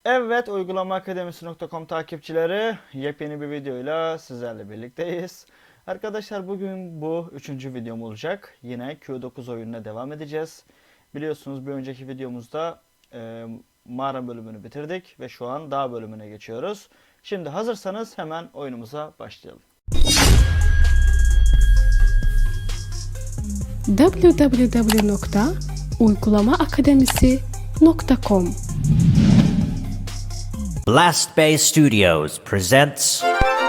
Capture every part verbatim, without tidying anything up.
Evet, uygulama akademisi nokta com takipçileri, yepyeni bir videoyla sizlerle birlikteyiz. Arkadaşlar, bugün bu üçüncü videom olacak. Yine Q dokuz oyununa devam edeceğiz. Biliyorsunuz bir önceki videomuzda e, mağara bölümünü bitirdik ve şu an dağ bölümüne geçiyoruz. Şimdi hazırsanız hemen oyunumuza başlayalım. w w w nokta uygulama akademisi nokta com Blast Bay Studios presents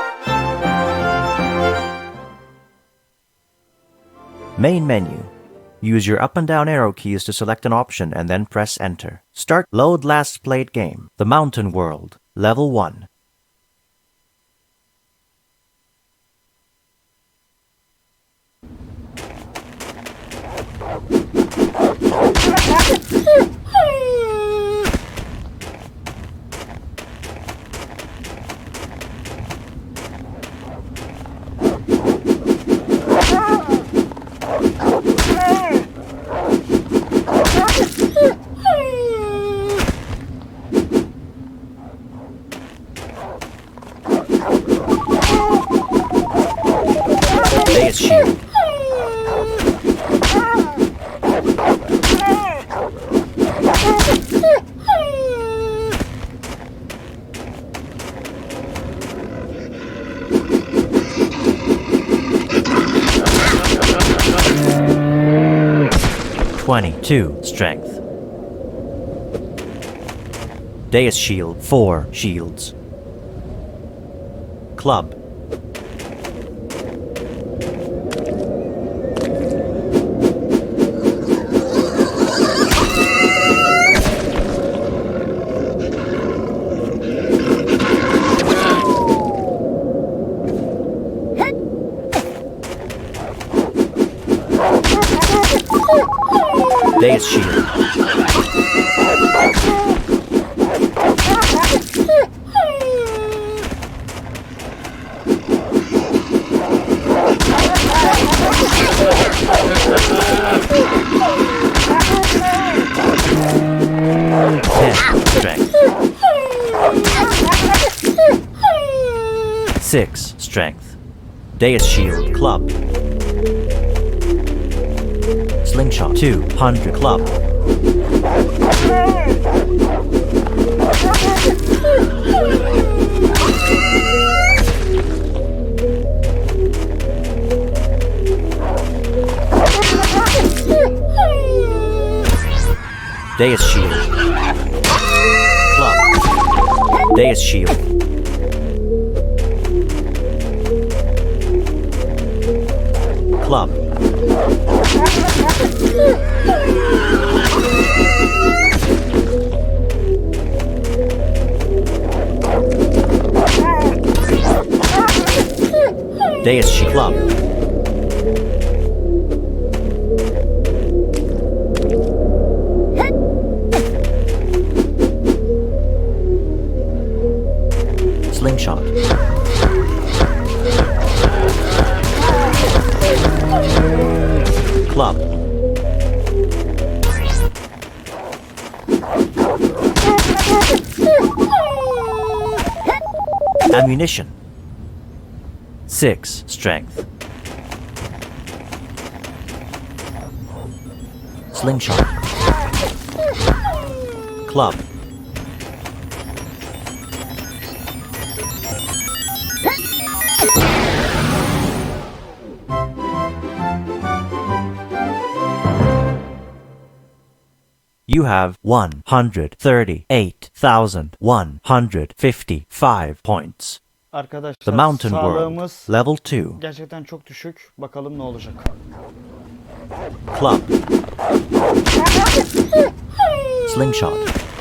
Main menu. Use your up and down arrow keys to select an option and then press enter. Start load last played game. The Mountain World, level one. Base shield. Twenty-two strength. Deus shield, four shields. Club. Deus shield. Ten strength. Six strength. Deus shield club. Slingshot two hundred club. Deus shield. Club. Deus shield. Club. Deus shield club. Slingshot. Club. Ammunition. Six strength. Slingshot. Club. You have one hundred thirty-eight thousand one hundred fifty-five points. Arkadaşlar, The Mountain sağlığımız World, level two. gerçekten çok düşük. Bakalım ne olacak. Club. Slingshot.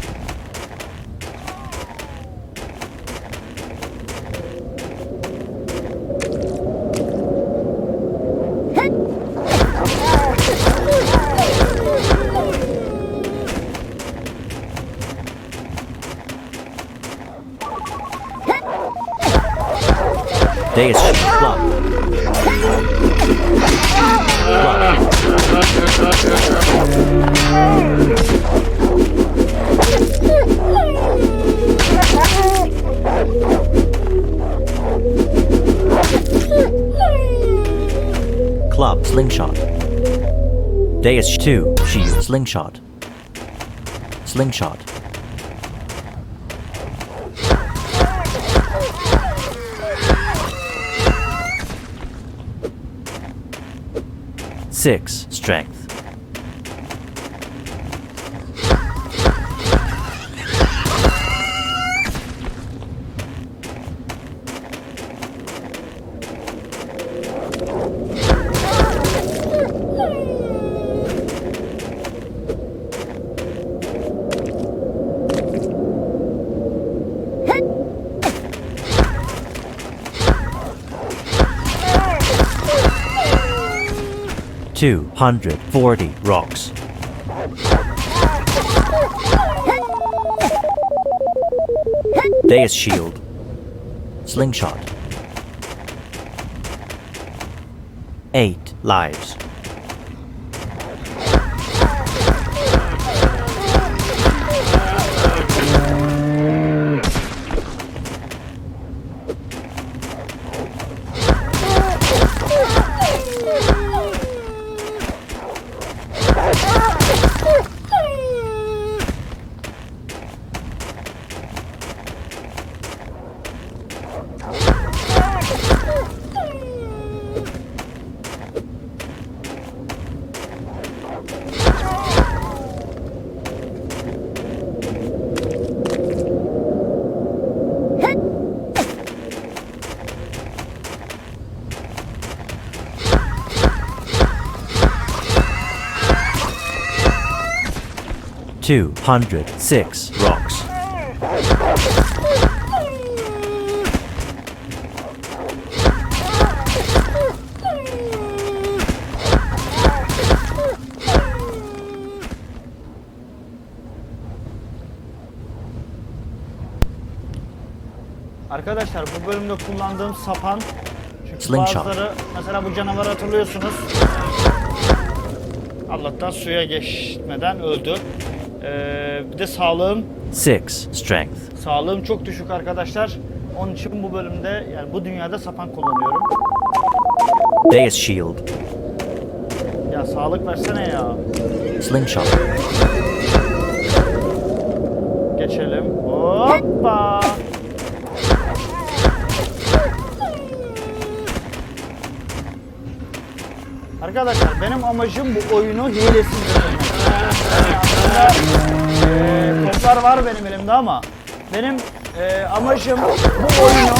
Deus shield club. Club. Slingshot. Deus two. Shield. Slingshot. Slingshot. Six. Strength. Two hundred forty rocks. Deus shield. Slingshot. Eight lives. Two hundred six rocks. Arkadaşlar bu bölümde kullandığım sapan, çünkü Slingshot. bazıları mesela bu canavarı hatırlıyorsunuz. Allah'tan suya geçmeden öldü. Ee, bir de sağlığım Six strength. sağlığım çok düşük arkadaşlar. Onun için bu bölümde, yani bu dünyada sapan kullanıyorum. Deus shield. Ya sağlık versene ya. Slingshot. Geçelim. Hoppa. Arkadaşlar benim amacım bu oyunu hilesiz bitirmek. Yani aslında e, toplar var benim elimde ama benim e, amacım bu oyunu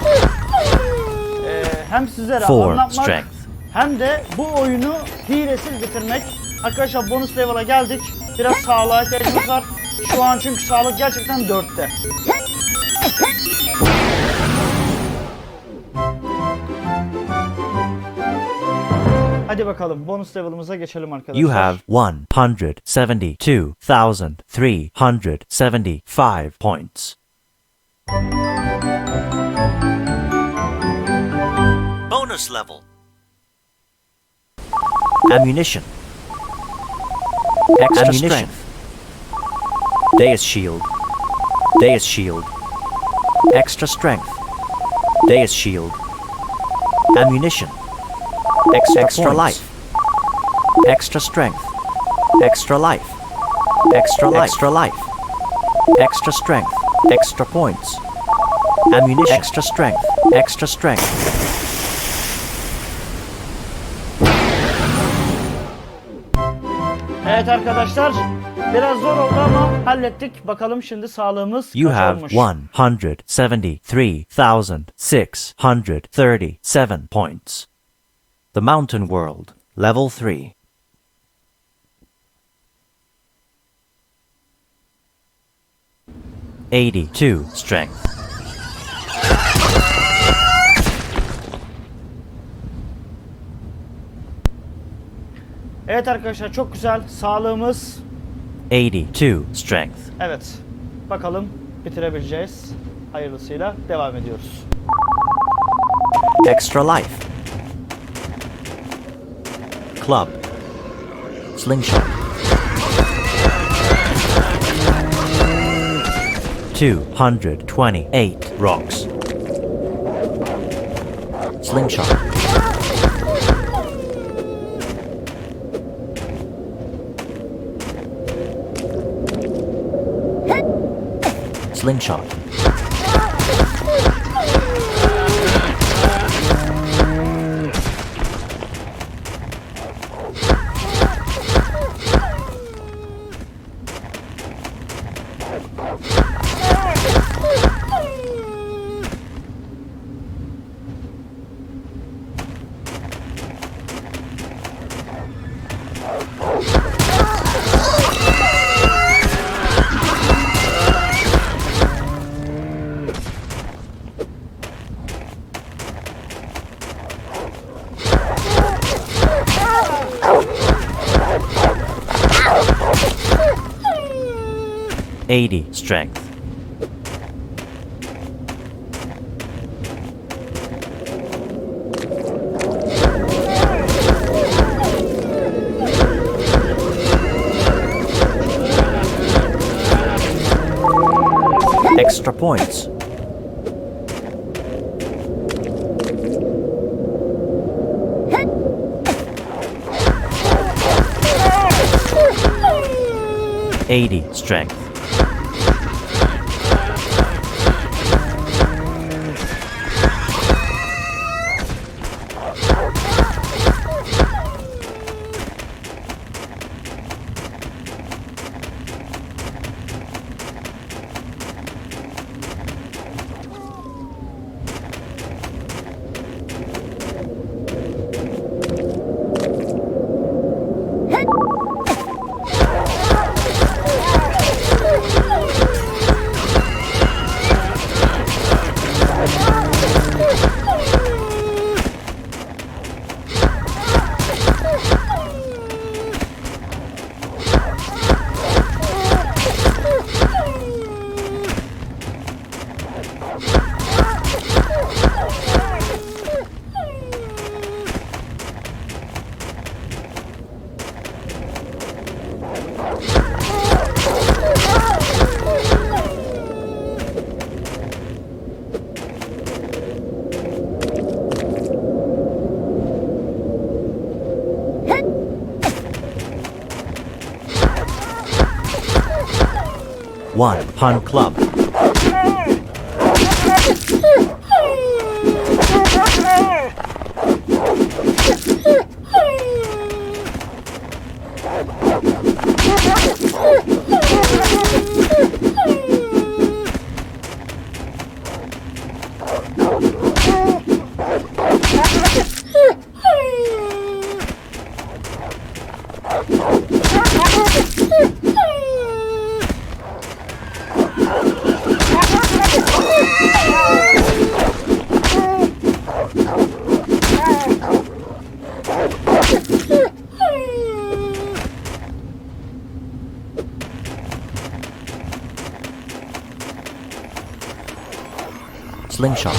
e, hem sizlere Four anlatmak strength. hem de bu oyunu hilesiz bitirmek. Arkadaşlar bonus level'a geldik. Biraz sağlığa ihtiyacımız var. Şu an çünkü sağlık gerçekten dörtte. Hadi bakalım bonus level'ımıza geçelim arkadaşlar. You have one hundred seventy-two thousand three hundred seventy-five points. Bonus level. Ammunition. Extra Ammunition. Strength. Deus shield. Deus shield. Extra strength. Deus shield. Ammunition. Extra, Extra life. Extra strength. Extra life. Extra life. Extra life. Extra strength. Extra points. Ammunition. Extra strength. Extra strength. Evet arkadaşlar, biraz zor oldu ama hallettik. Bakalım şimdi sağlığımız You kaç have olmuş? one hundred seventy-three thousand six hundred thirty-seven points. The Mountain World, Level three. eighty-two Strength. Evet arkadaşlar, çok güzel. Sağlığımız eighty-two Strength. evet. Bakalım bitirebileceğiz. Hayırlısıyla devam ediyoruz. Extra life. Club. Slingshot. two hundred twenty-eight rocks. Slingshot. Slingshot. eighty strength. Extra points. eighty strength. One pun club. Slingshot.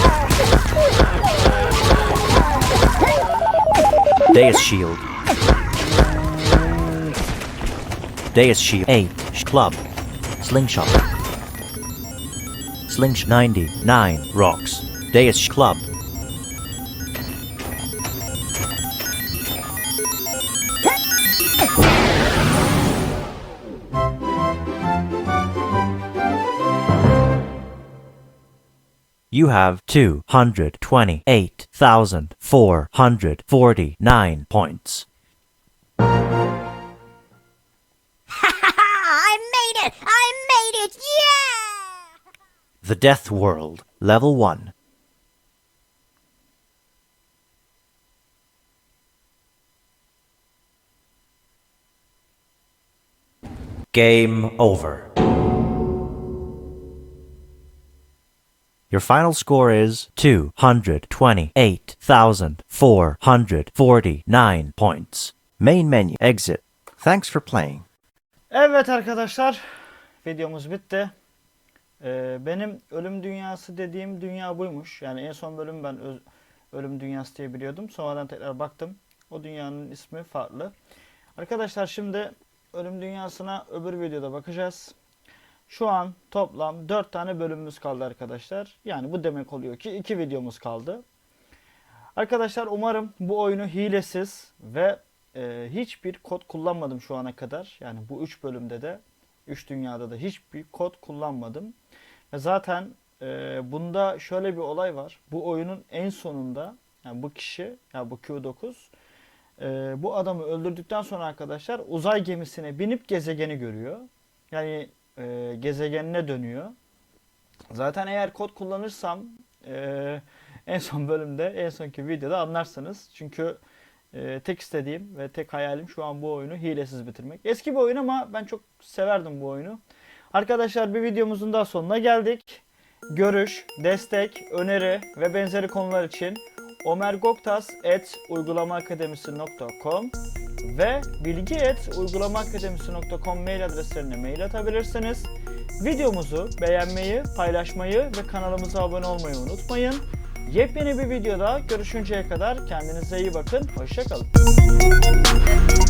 Deus Shield. Deus Shield. eight. Club. Slingshot. Slingshot. ninety-nine. Rocks. Deus Club. You have two hundred twenty-eight thousand four hundred forty-nine points. I made it! I made it! Yeah! The Death World, Level one. Game over. Your final score is two hundred twenty-eight thousand four hundred forty-nine points. Main menu, exit. Thanks for playing. Evet arkadaşlar, videomuz bitti. Ee, benim ölüm dünyası dediğim dünya buymuş. Yani en son bölüm ben öz, ölüm dünyası diye biliyordum. Sonradan tekrar baktım. O dünyanın ismi farklı. Arkadaşlar şimdi ölüm dünyasına öbür videoda bakacağız. Şu an toplam dört tane bölümümüz kaldı arkadaşlar. Yani bu demek oluyor ki iki videomuz kaldı. Arkadaşlar umarım bu oyunu hilesiz ve e, hiçbir kod kullanmadım şu ana kadar. Yani bu üç bölümde de Üç dünyada da hiçbir kod kullanmadım. Ve zaten e, bunda şöyle bir olay var. Bu oyunun en sonunda yani bu kişi, yani bu Q dokuz e, bu adamı öldürdükten sonra arkadaşlar uzay gemisine binip gezegeni görüyor. Yani e, gezegenine dönüyor. Zaten eğer kod kullanırsam e, en son bölümde, en sonki videoda anlarsınız. Çünkü e, tek istediğim ve tek hayalim şu an bu oyunu hilesiz bitirmek. Eski bir oyun ama ben çok severdim bu oyunu. Arkadaşlar bir videomuzun daha sonuna geldik. Görüş, destek, öneri ve benzeri konular için omergoktas at uygulamaakademisi nokta com ve bilgi at uygulamaakademisi nokta com mail adreslerine mail atabilirsiniz. Videomuzu beğenmeyi, paylaşmayı ve kanalımıza abone olmayı unutmayın. Yepyeni bir videoda görüşünceye kadar kendinize iyi bakın. Hoşça kalın.